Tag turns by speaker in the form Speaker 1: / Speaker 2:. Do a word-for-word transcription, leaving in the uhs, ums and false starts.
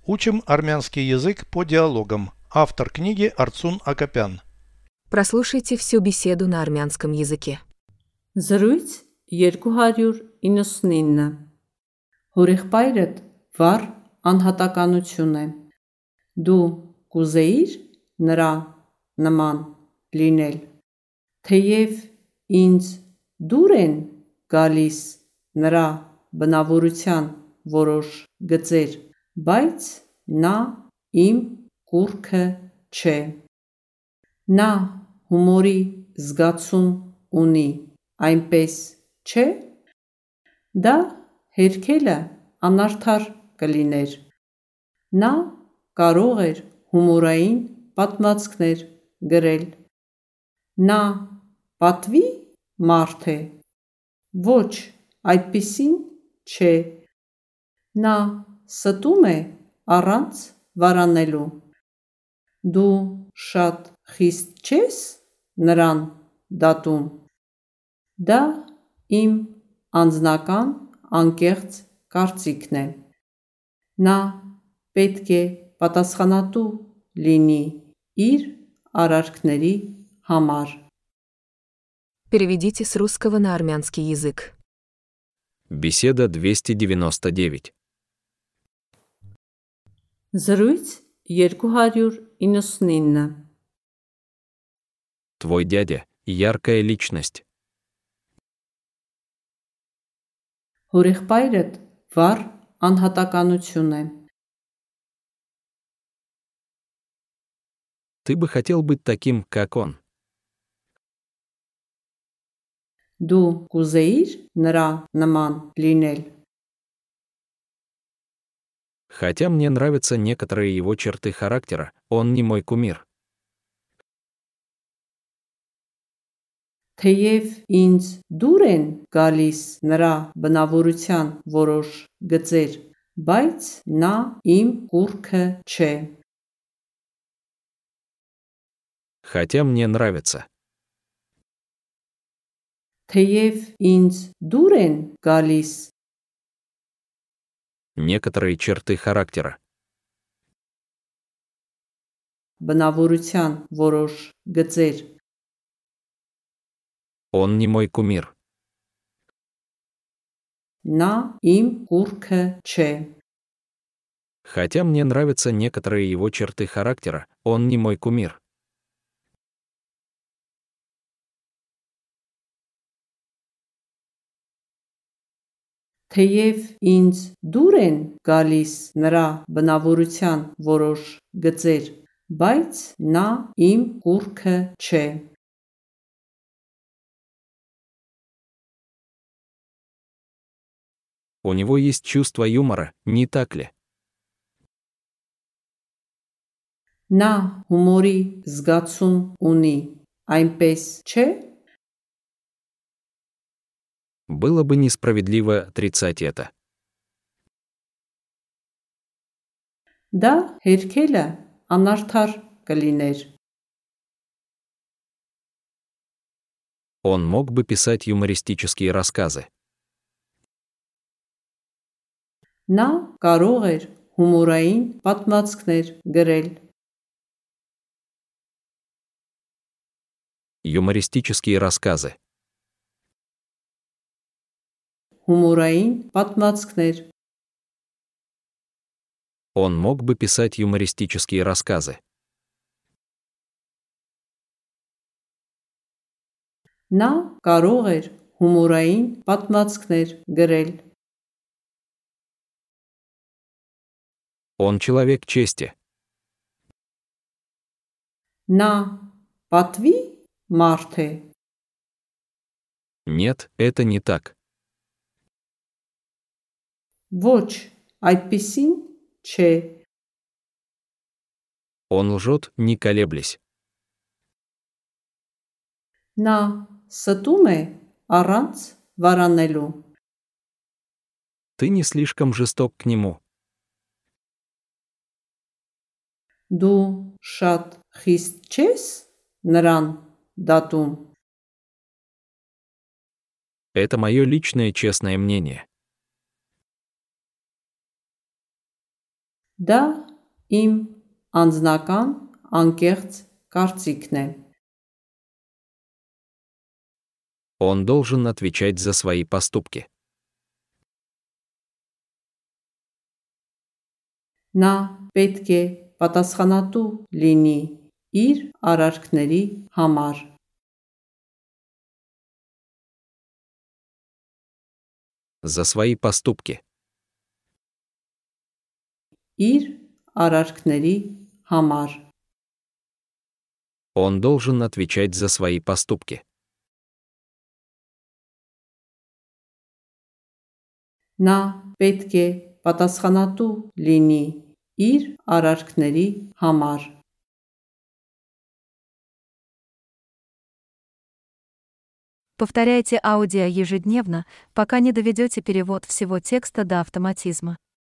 Speaker 1: Учим армянский язык по диалогам. Автор книги Арцун Акопян.
Speaker 2: Прослушайте всю беседу на армянском языке.
Speaker 3: Զրույց երկու հարյուր իննսունինը Հորեղբայրդ վառ անհատականություն է։ Դու կուզեիր նրա նման լինել, թեև ինձ դուր են գալիս նրա բնավորության որոշ գծեր, բայց նա իմ կուռքը չէ։ Նա հումորի զգացում ունի, այնպես չէ՞։ Դա հերքելը անարդար կլիներ։ Նա կարող էր հումորային պատմվածքներ գրել։ Նա պատվի մարդ է։ Ոչ, այդպիսին չէ։ Նա ստում է առանց վարանելու։ Դու շատ խիստ չես նրան դատում։ Դա իմ անձնական անկեղծ կարծիքն է։ Նա պետք է պատասխանատու լինի իր արարքների համար։
Speaker 2: Переведите с русского на армянский язык.
Speaker 4: Беседа двести девяносто девять.
Speaker 3: Զրույց երկու հարյուր իննսունինը
Speaker 4: Твой дядя – яркая личность.
Speaker 3: Հորեղբայրդ վառ անհատականություն է։
Speaker 4: Ты бы хотел быть таким, как он.
Speaker 3: Դու կուզեիր նրա նման լինել։
Speaker 4: Хотя мне нравятся некоторые его черты характера, он не мой кумир.
Speaker 3: Թեև ինձ դուր են գալիս նրա բնավորության որոշ գծեր, բայց նա իմ կուռքը չէ։
Speaker 4: Хотя мне нравится.
Speaker 3: Թեև ինձ դուր են գալիս
Speaker 4: Некоторые черты характера.
Speaker 3: բնավորության որոշ գծեր,
Speaker 4: Он не мой кумир.
Speaker 3: նա իմ կուռքը չէ։
Speaker 4: Хотя мне нравятся некоторые его черты характера, он не мой кумир.
Speaker 3: Թեև ինձ դուր են գալիս նրա բնավորության որոշ գծեր, բայց նա իմ կուռքը չէ։
Speaker 4: У него есть чувство юмора, не так ли?
Speaker 3: Նա հումորի զգացում ունի, այնպես չէ։
Speaker 4: Было бы несправедливо отрицать это.
Speaker 3: Դա հերքելը անարդար կլիներ։
Speaker 4: Он мог бы писать юмористические рассказы.
Speaker 3: Նա կարող էր հումորային պատմվածքներ գրել։
Speaker 4: Юмористические рассказы.
Speaker 3: Հումորային պատմվածքներ։
Speaker 4: Он мог бы писать юмористические рассказы.
Speaker 3: Նա կարող էր հումորային պատմվածքներ գրել։
Speaker 4: Он человек чести.
Speaker 3: Նա պատվի մարդ է։
Speaker 4: Нет, это не так.
Speaker 3: Ոչ, այդպիսին չէ։
Speaker 4: Он лжет, не колеблясь.
Speaker 3: Նա ստում է առանց վարանելու։
Speaker 4: Ты не слишком жесток к нему.
Speaker 3: Դու շատ խիստ չես նրան դատում։
Speaker 4: Это мое личное честное мнение.
Speaker 3: Դա իմ անձնական անկեղծ կարծիքն է։
Speaker 4: Он должен отвечать за свои поступки.
Speaker 3: Նա պետք է պատասխանատու լինի իր արարքների համար։
Speaker 4: За свои поступки.
Speaker 3: Իր արարքների համար։
Speaker 4: Он должен отвечать за свои поступки.
Speaker 3: Նա պետք է պատասխանատու լինի իր արարքների համար։
Speaker 5: Повторяйте аудио ежедневно, пока не доведете перевод всего текста до автоматизма.